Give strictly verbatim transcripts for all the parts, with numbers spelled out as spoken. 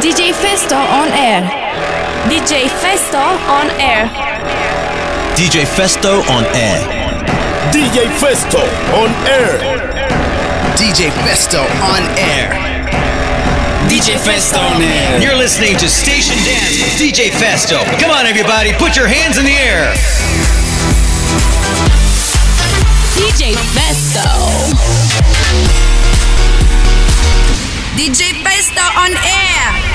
D J Festo on air. D J Festo on air. D J Festo on air. D J Festo on air. D J Festo on air. D J Festo on air. You're listening to Station Dance with D J Festo. Come on, everybody, put your hands in the air. D J Festo. D J Festo on air.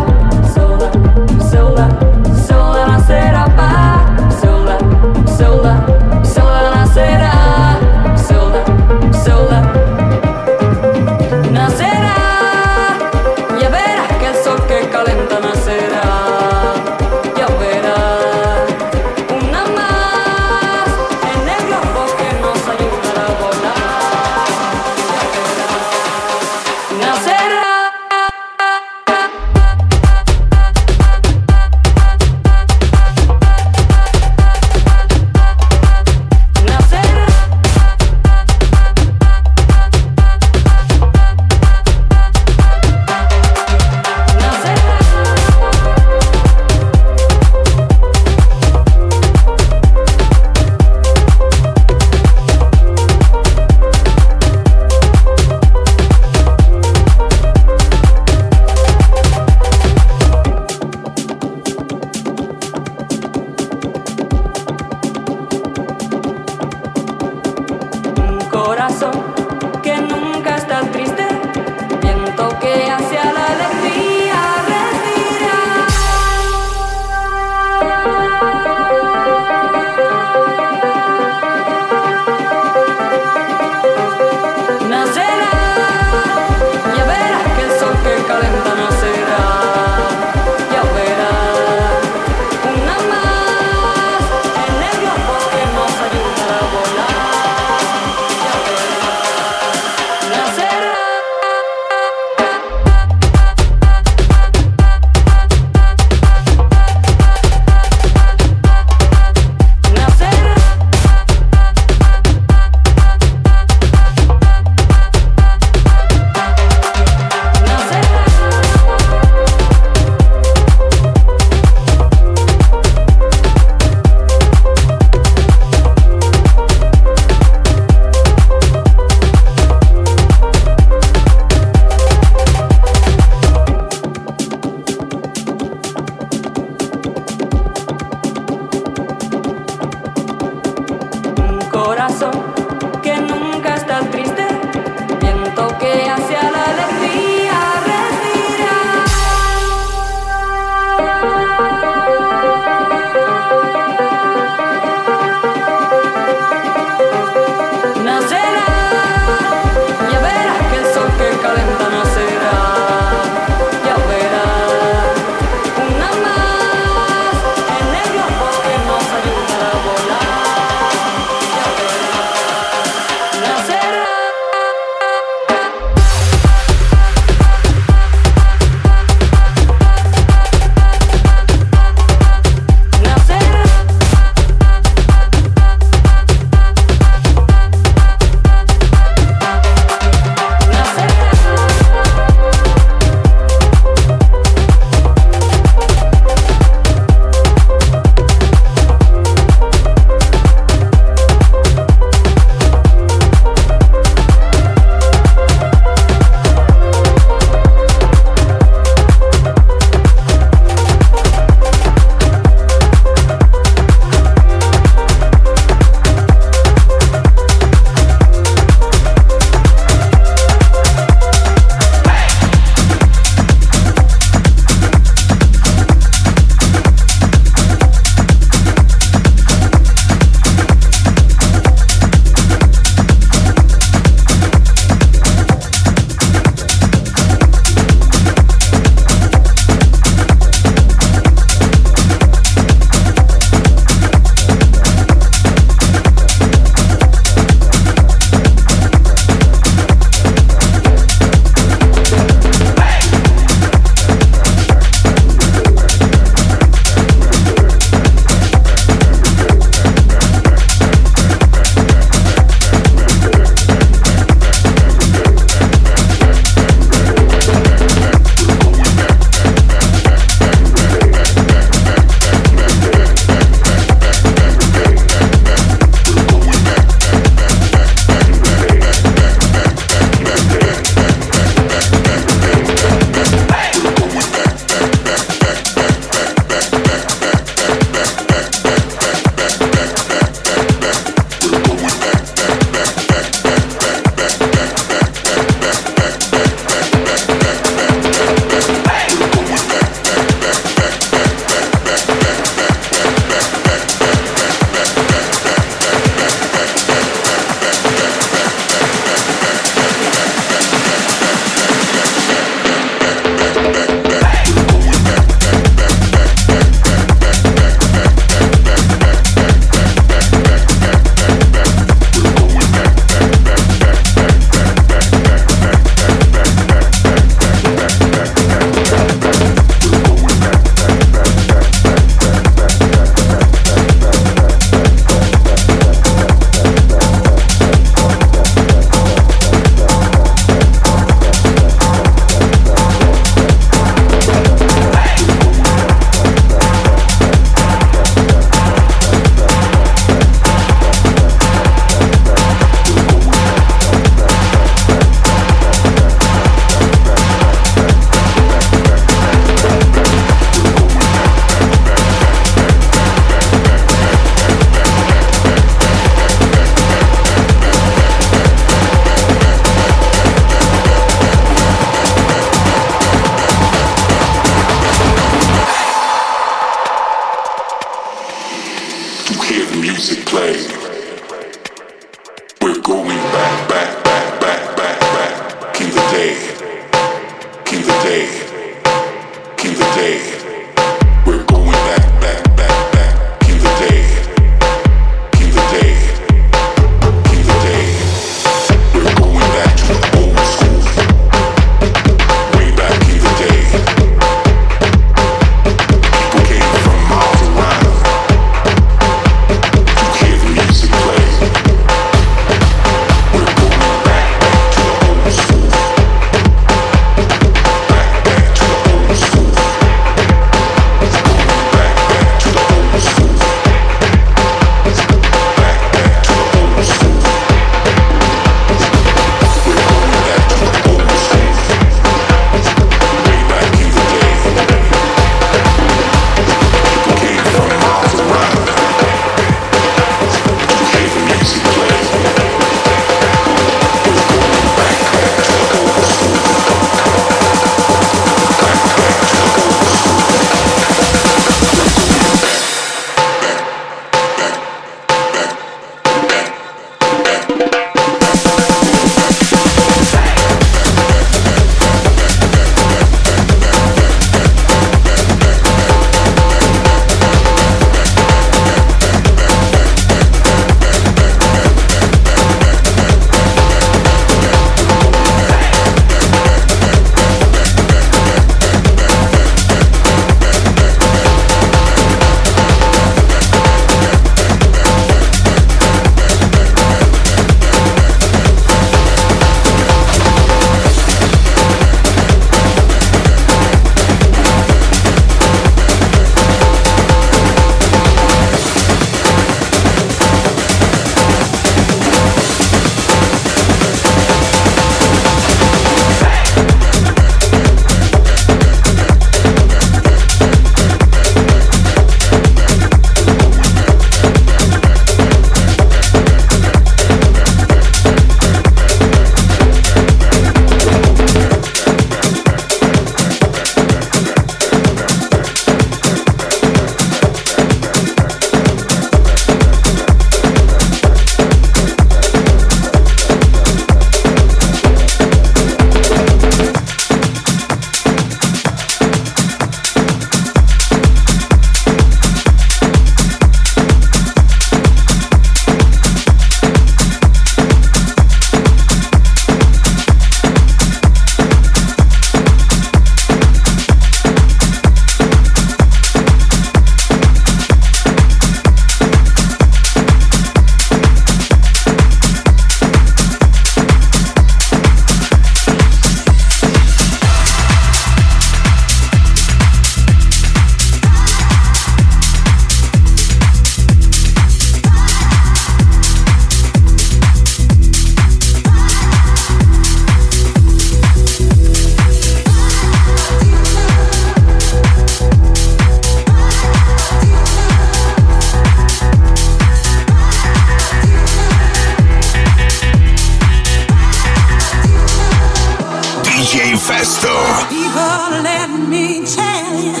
Festo. People, let me tell you,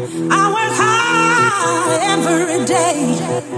I work hard every day.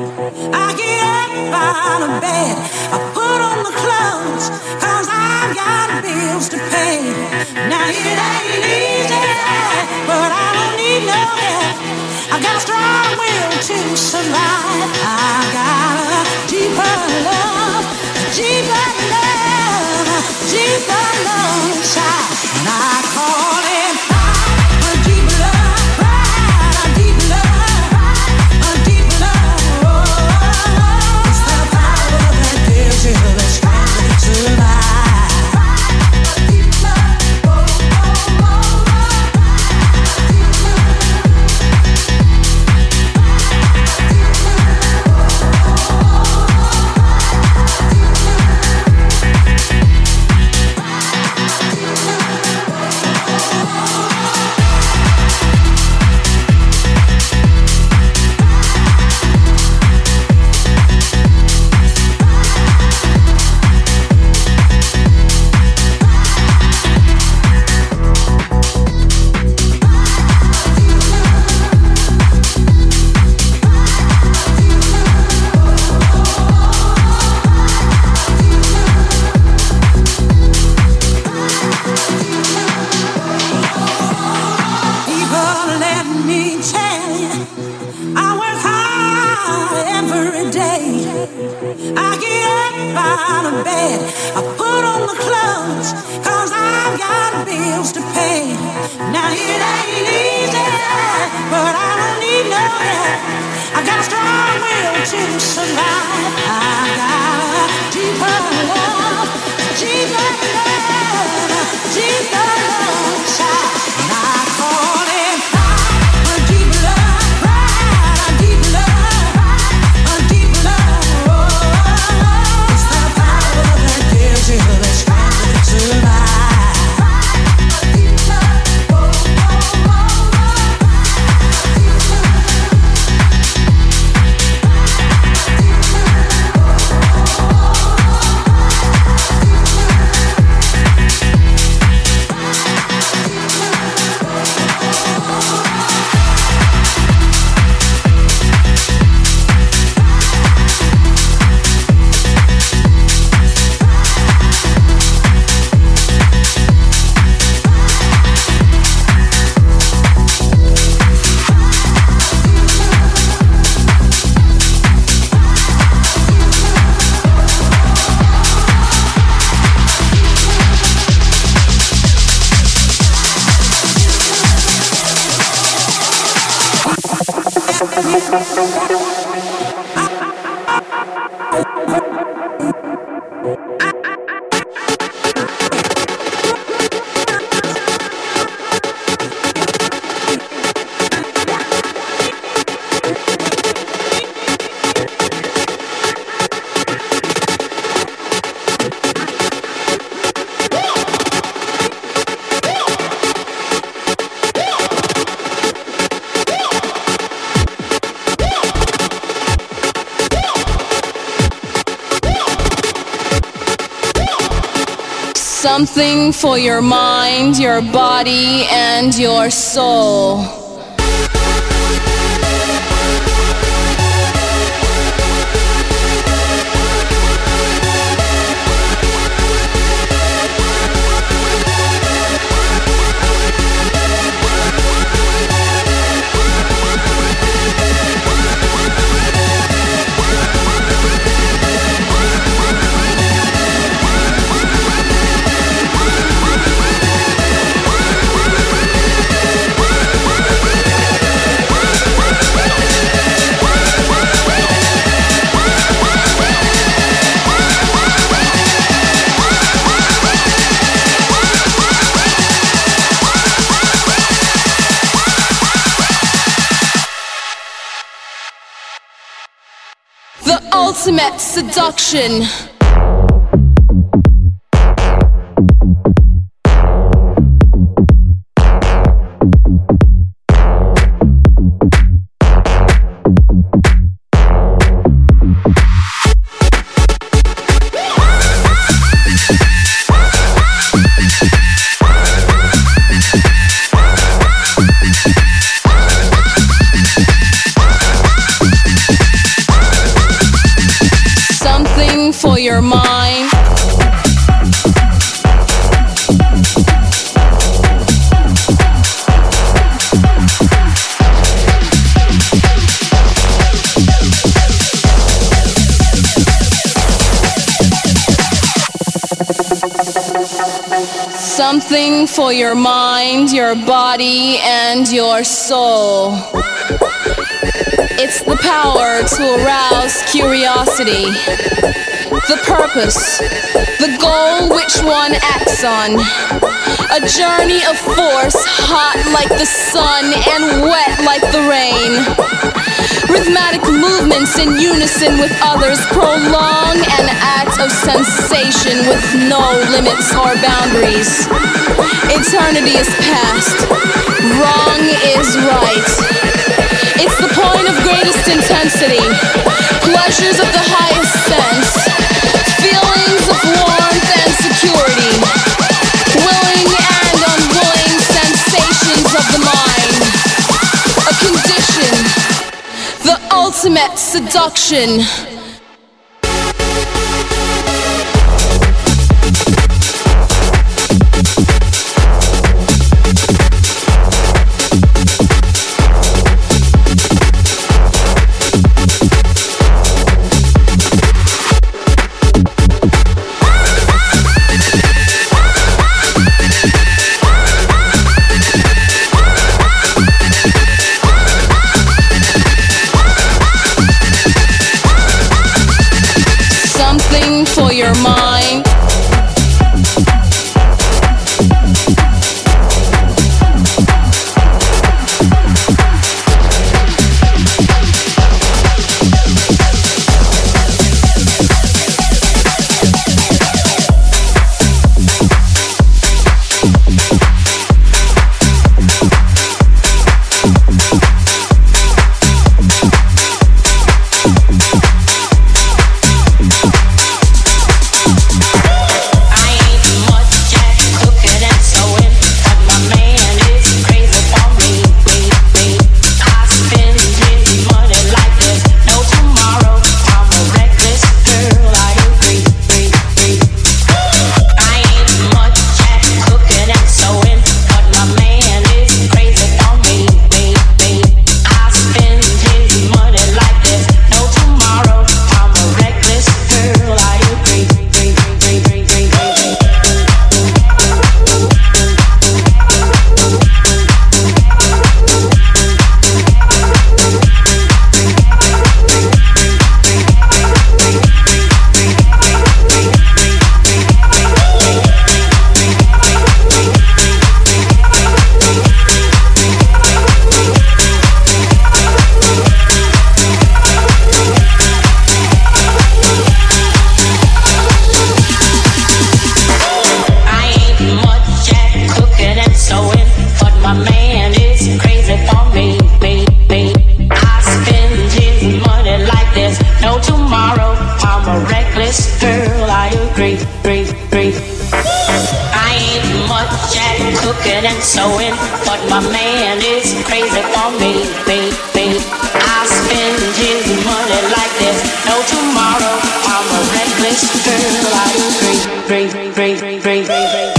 I get up out of bed, I put on the clothes, cause I've got bills to pay. Now it ain't easy, but I don't need no help. I've got a strong will to survive. I got a deeper love, a deeper love, a deeper love inside. And I call it a deep love, a deep love, a deep love. Oh, it's the power that gives you the strength to survive. A deep love, oh, oh, oh, oh. A deep love. let me tell you, I work hard every day. I get up out of bed, I put on the clothes, cause I've got bills to pay. Now it ain't easy, but I don't need no help. I got a strong will to survive. I got a deeper love, deeper love, deeper love inside. And I call it a deep love, a deep love, a deep love. Oh, it's the power that gives you the strength to survive. A deep love, oh, oh, oh, oh. Deep love. Something for your mind, your body, and your soul. The ultimate seduction. For your mind. Something for your mind, your body, and your soul. It's the power to arouse curiosity. The purpose, the goal which one acts on. A journey of force, hot like the sun and wet like the rain. Rhythmic movements in unison with others prolong an act of sensation with no limits or boundaries. Eternity is past, wrong is right. It's the point of greatest intensity, pleasures of the highest sense, feelings of warmth and security, willing and unwilling sensations of the mind, a condition, the ultimate seduction. sewing, but my man is crazy for me, baby. I spend his money like there's no tomorrow. I'm a reckless girl, I agree, agree, agree, agree, agree, agree.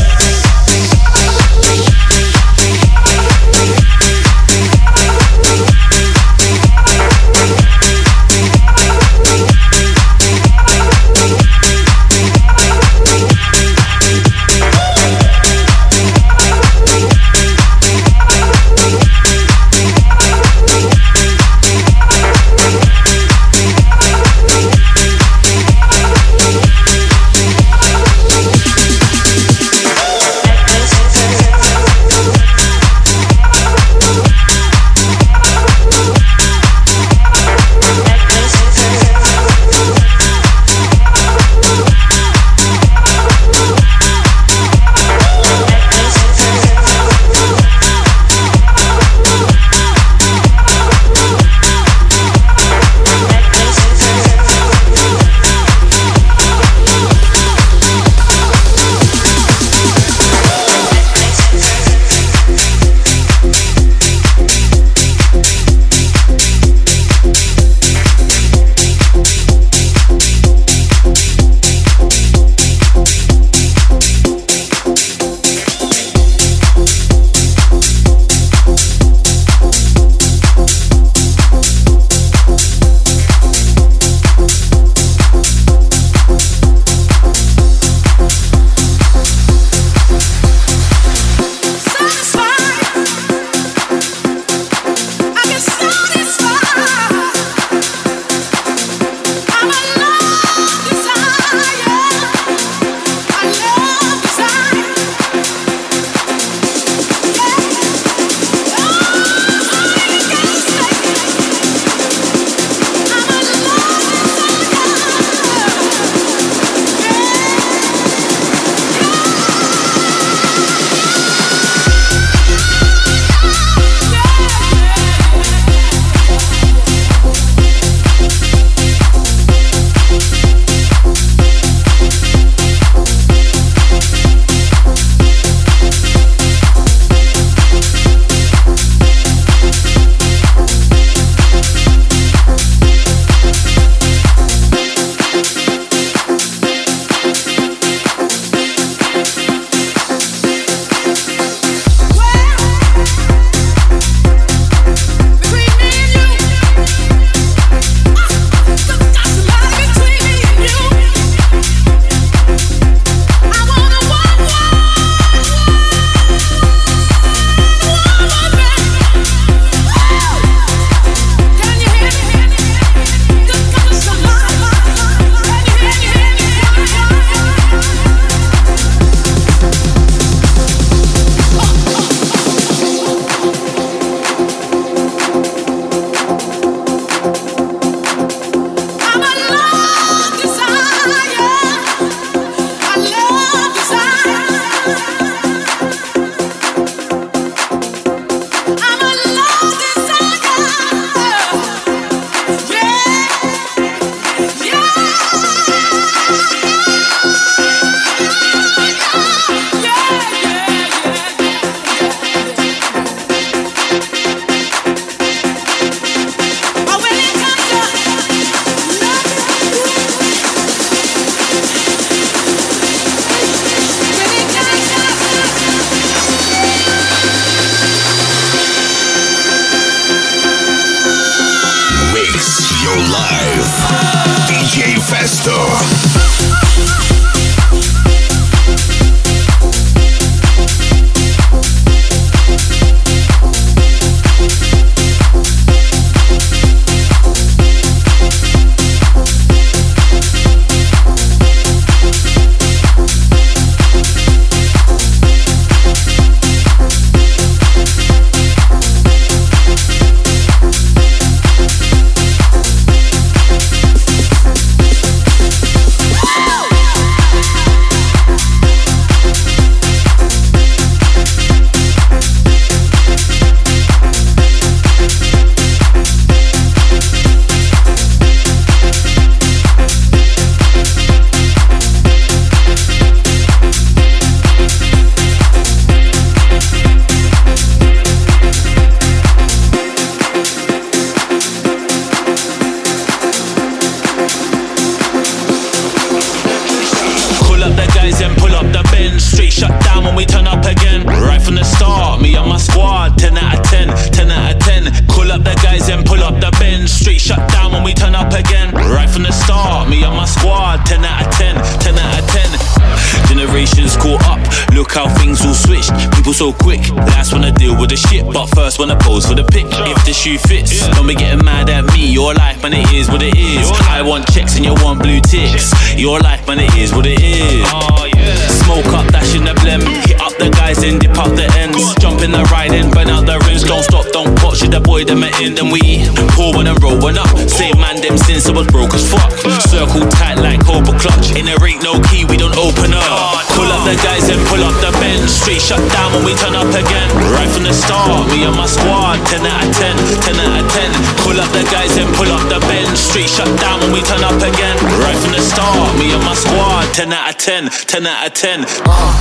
down when we turn up again. Right from the start, me and my squad, ten out of ten, ten out of ten. Generations caught up, look how things all switched. People so quick, last wanna deal with the shit, but first wanna pose for the pic. If the shoe fits, don't be getting mad at me. Your life, man, it is what it is. I want checks and you want blue ticks. Your life, man, it is what it is. Smoke up, dash in the blem, hit up the guys and dip up the ends. Jump in the ride and burn out the rims. Don't stop, don't pop, shit the boy them at in. Then we pour one and roll one up. Same man them since I was broke as fuck. Circle tight like Cobra clutch. In there ain't no key, we don't open up. Pull up the guys and pull up the bench. Straight shut down when we turn up again. Right from the start, me and my squad, ten out of ten, ten out of ten. Pull up the guys and pull up the bench. Straight shut down when we turn up again. Right from the start, me and my squad, ten out of ten, ten out of ten. Uh.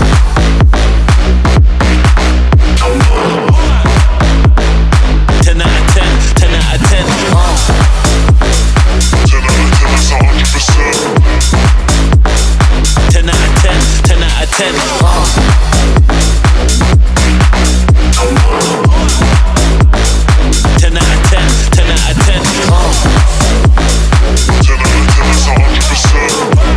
ten out of ten, ten out of ten. Uh. ten out of ten is one hundred percent. ten out of ten, ten out of ten. Uh. ten out of ten, ten out of ten. Uh. ten out of ten is one hundred percent.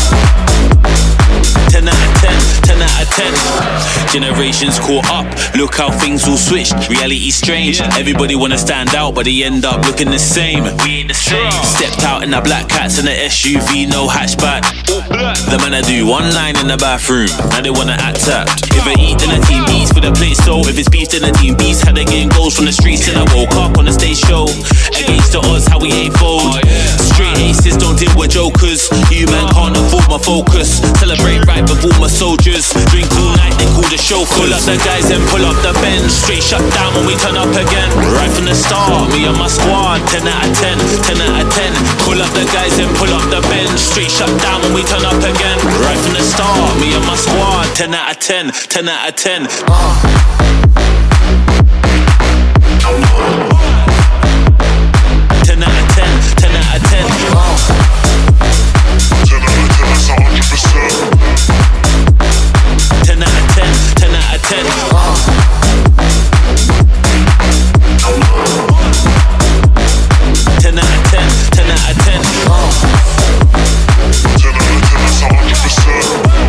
ten out of ten, ten out of ten. Generations caught up, look how things all switched. Reality's strange, everybody wanna stand out, but they end up looking the same. We ain't the same. Stepped out in the black cats and the S U V, no hatchback. The man I do one line in the bathroom, now they wanna act tapped. If I eat, then the team eats for the plate, so if it's beef, then the team beats. Had they getting goals from the streets, and I woke up on the stage show. Against the odds, how we ain't fold. Straight aces, don't deal with jokers. You man can't afford my focus. Celebrate right before my soldiers. Drink all night, they call the show. Pull up the guys and pull up the bench. Straight shut down when we turn up again. Right from the start, me and my squad, ten out of ten, ten out of ten. Pull up the guys and pull up the bench. Straight shut down when we turn up again. Right from the start, me and my squad, ten out of ten, ten out of ten. Uh. ten out of ten, ten out of ten. Uh. ten out of ten is one hundred percent. ten out of ten, ten out of ten. Uh. ten out of ten, ten out of ten. Uh. ten out of ten is one hundred percent.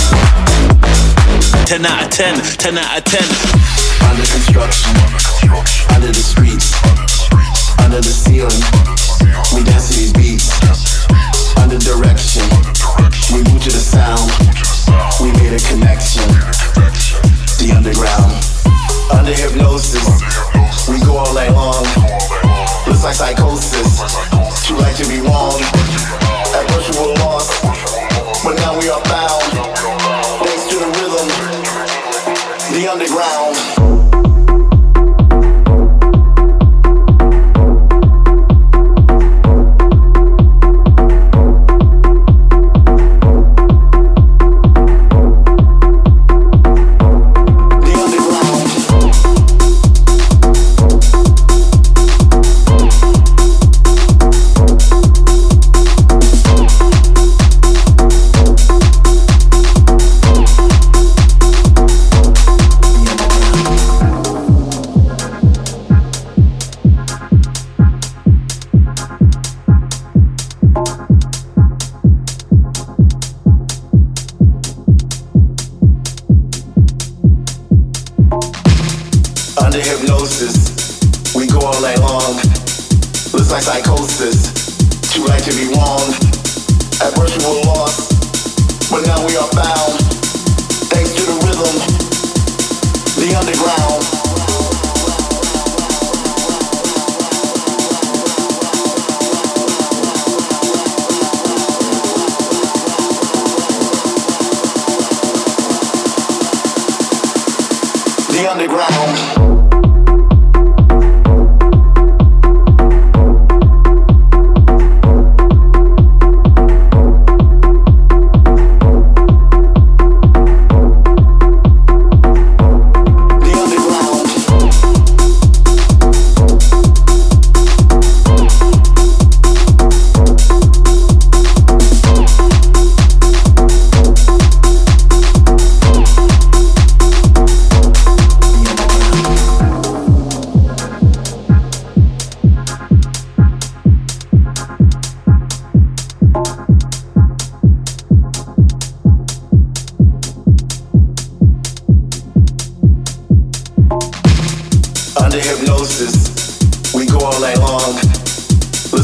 ten out of ten, ten out of ten. Under construction, under the streets, under the ceiling, we dance to these beats. Under direction, we move to the sound. We made a connection. The underground, under hypnosis, we go all night long. Looks like psychosis. Too right to be wrong. At first we were lost, but now we are found. Thanks to the rhythm, the underground. The underground.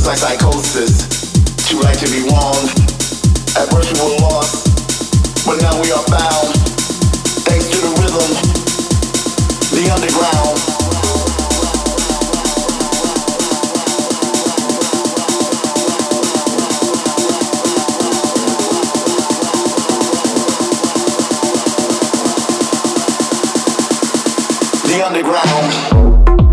just like psychosis. Too right to be wrong. At first we were lost, but now we are found. Thanks to the rhythm, the underground. The underground.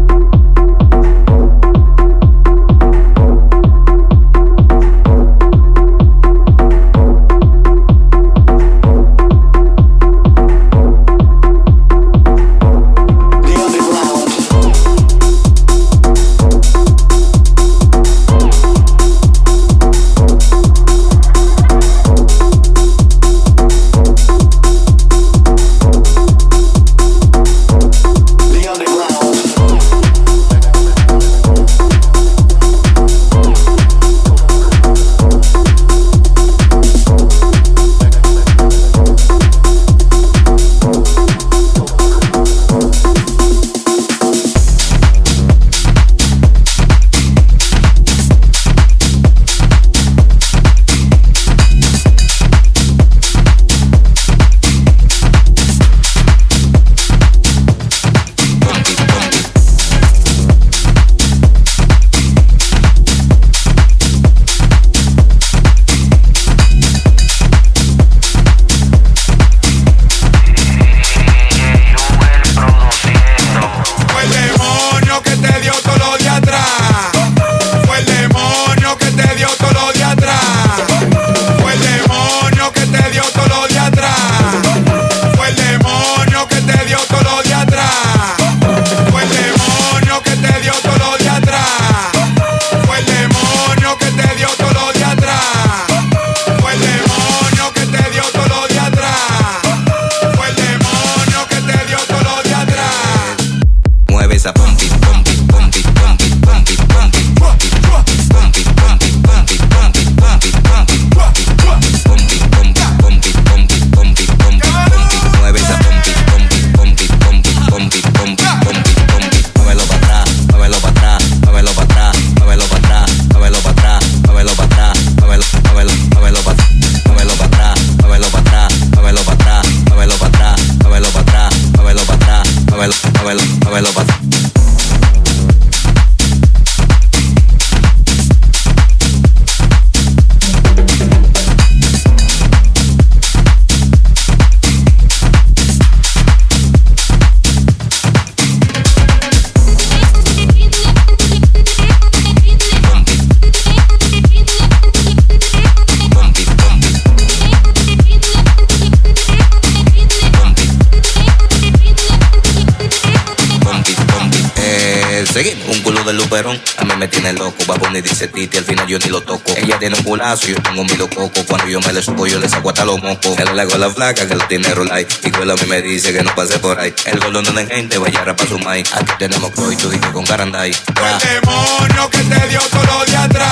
A mí me tiene loco, va a poner dice Titi, al final yo ni lo toco. Ella tiene un culazo, yo tengo mil coco. Cuando yo me le subo, yo le saco hasta los mocos. Él le hago la flaca que lo tiene rolay. Y cuela a mí me dice que no pase por ahí. El gordón donde hay gente, vaya a rapar su maíz. Aquí tenemos croy, tú dices con caranday. Fue el demonio que te dio todo lo de atrás.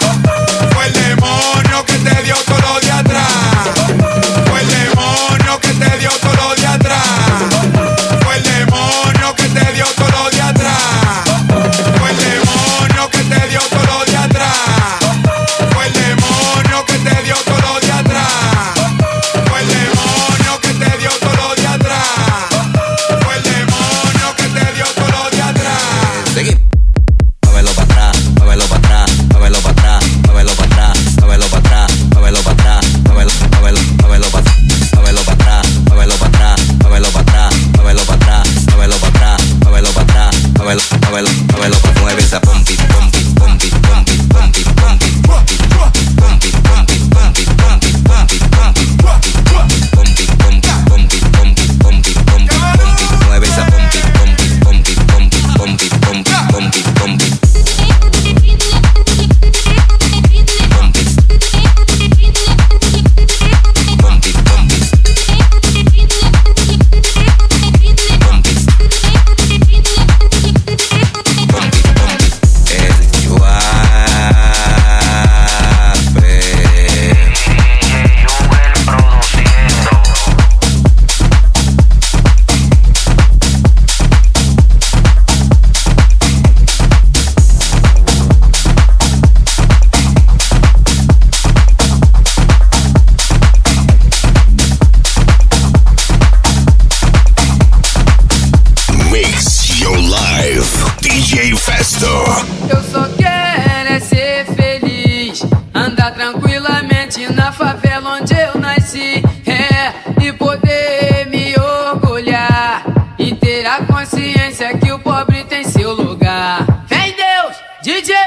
Fue el demonio que te dio todo lo de atrás. Fue el demonio que te dio todo lo de atrás. Fue el demonio que te dio todo lo de atrás. Fue el demonio que te dio todo lo de atrás. Fue el demonio que te dio todo lo de atrás. Fue el demonio que te dio todo lo de atrás. Fue el demonio que te dio todo lo de atrás. Seguimos. Muévelo para atrás, tranquilamente na favela onde eu nasci, é, e poder me orgulhar e ter a consciência que o pobre tem seu lugar. Vem Deus, D J!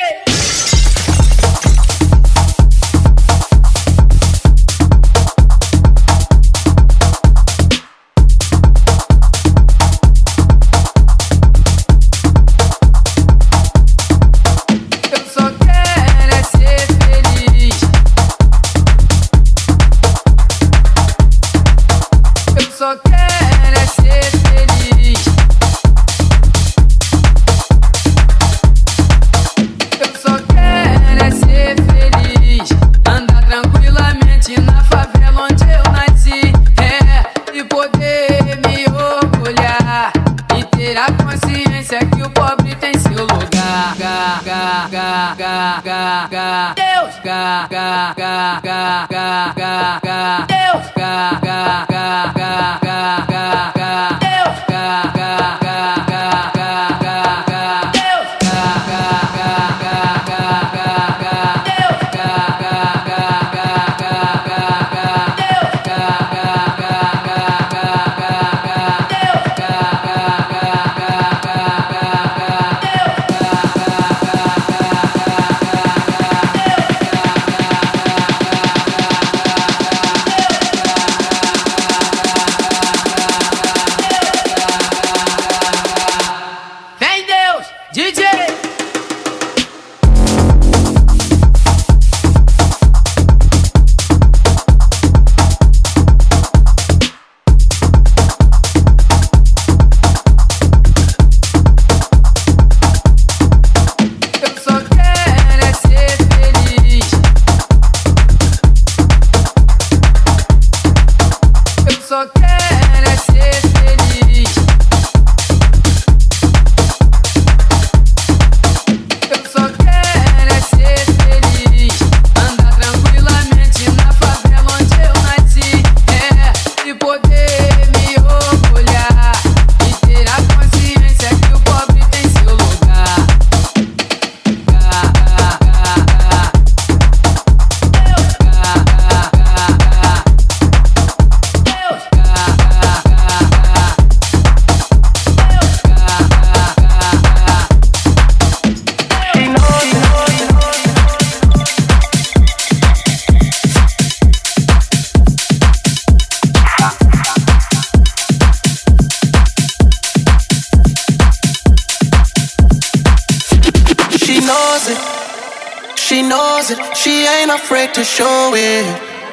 To show it,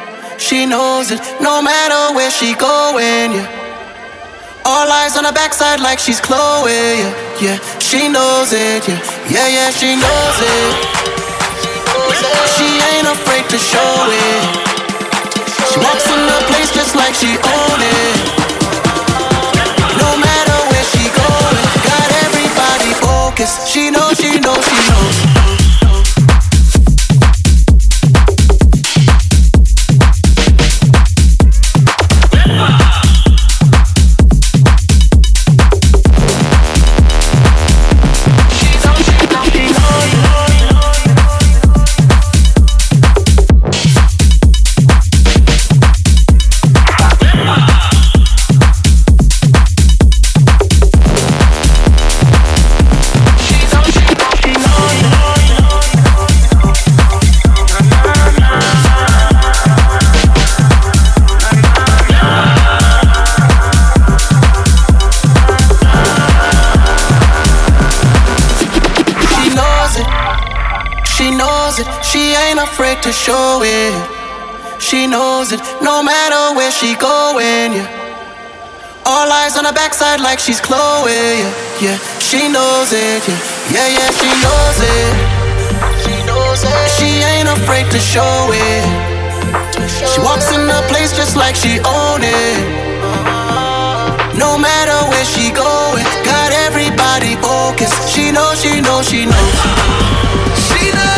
she knows it. No matter where she going, yeah. All eyes on her backside like she's Chloe, yeah. Yeah, she knows it, yeah. Yeah, yeah, she knows it. She ain't afraid to show it. She walks in the place just like she own it. No matter where she going, got everybody focused. She knows, she knows, she knows. To show it, she knows it. No matter where she going, yeah. All eyes on her backside like she's Chloe, yeah. Yeah, she knows it, yeah. Yeah, yeah, she knows it. She knows it. She ain't afraid to show it. She walks in the place just like she own it. No matter where she going, got everybody focused. She knows, she knows, she knows. She knows.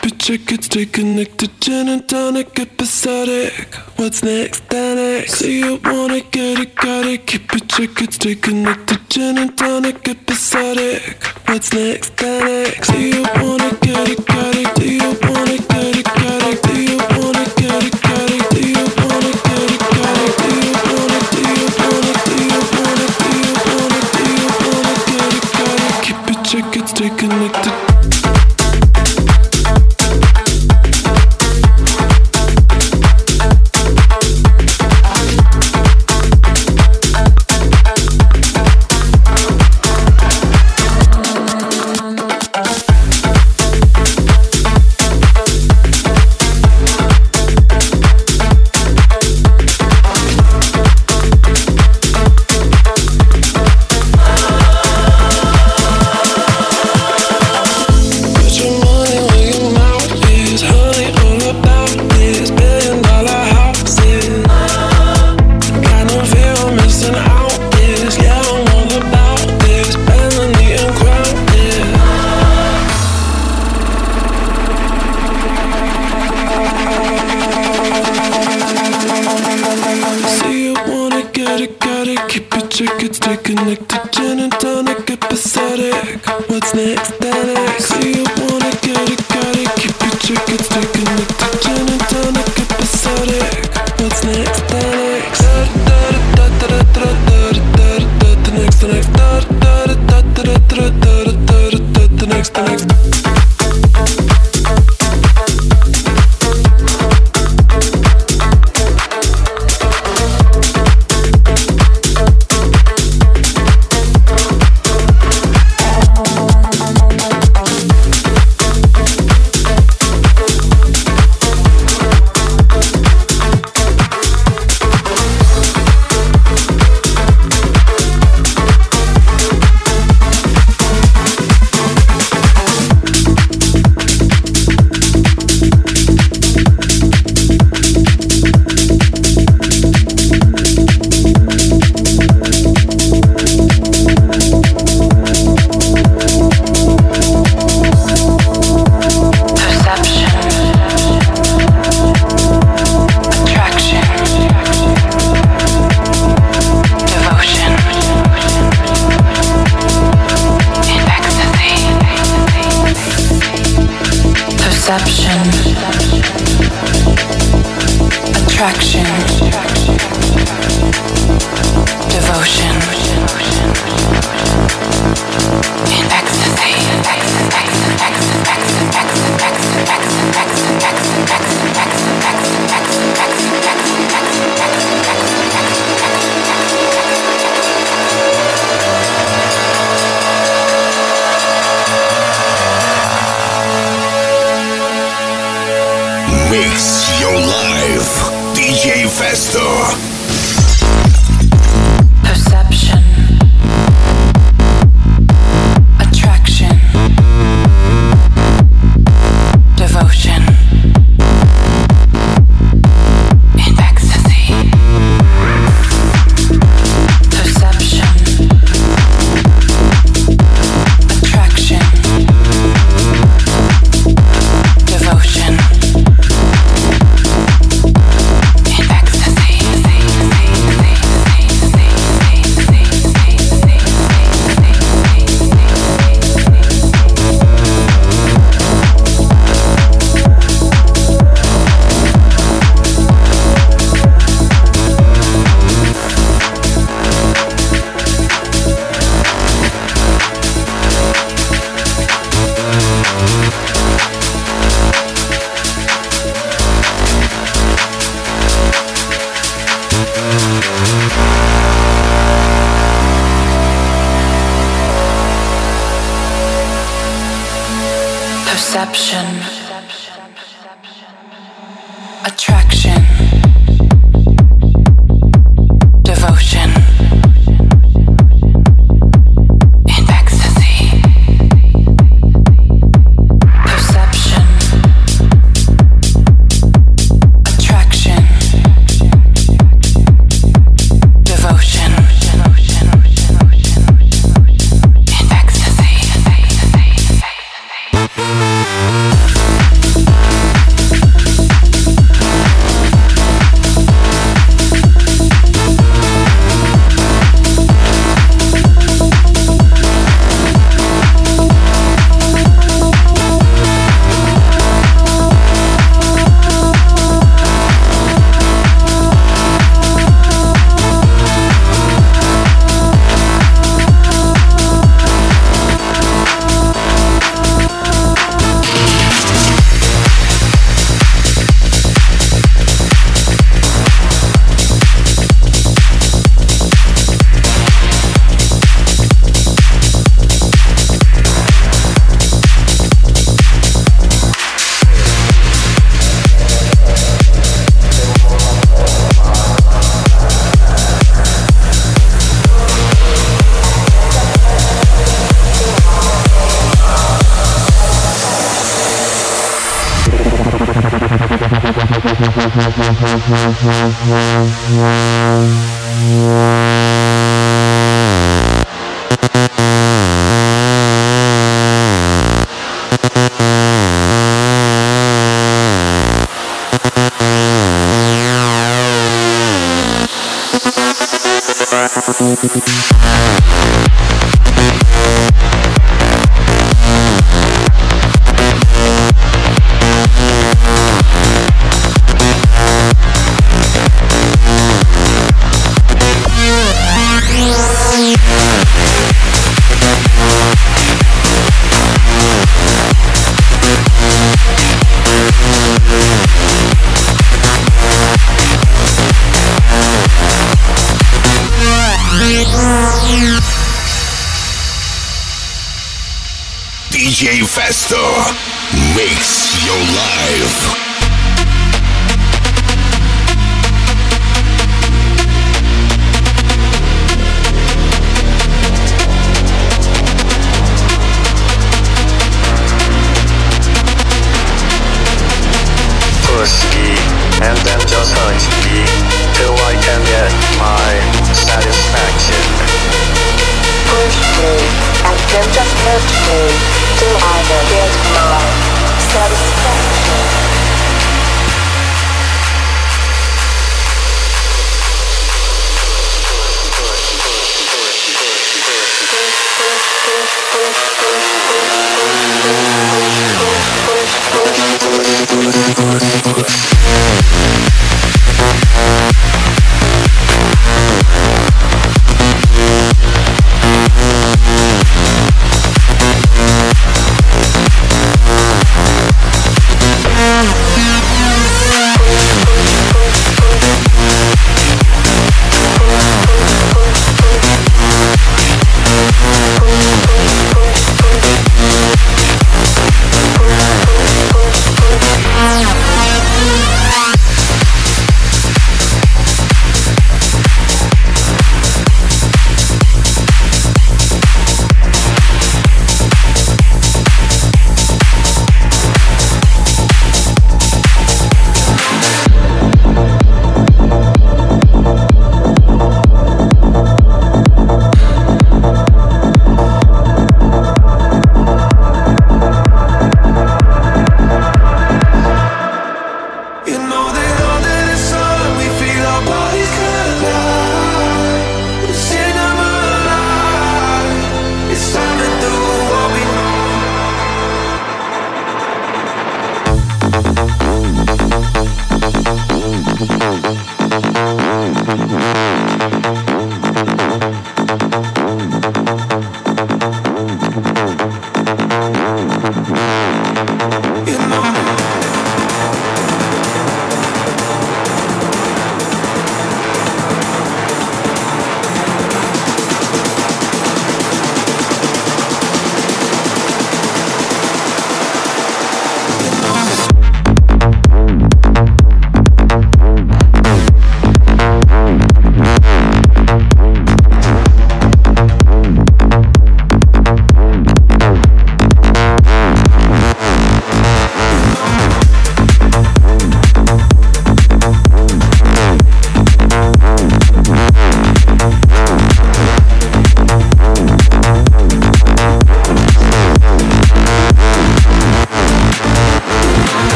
keep it chicken, stay connected. Gin and tonic, episodic. What's next, then next? So you wanna get it, got it. Keep it chicken, stay connected. Gin and tonic, episodic. What's next, then next? So you wanna get it, got it. Do you wanna get it, got it? Do you wanna get it, got it? Do you wanna get it, got it? Do you wanna, do you wanna, do you wanna, do you wanna, do you wanna get it, got it? Keep it chicken, stay connected. Perception, attraction, devotion, in ecstasy. Perception, attraction, devotion, in ecstasy. D J Festo makes your life. Push me and then just hurt me till I can get my satisfaction. Push me and then just hurt me till I can get my satisfaction. Mm-hmm.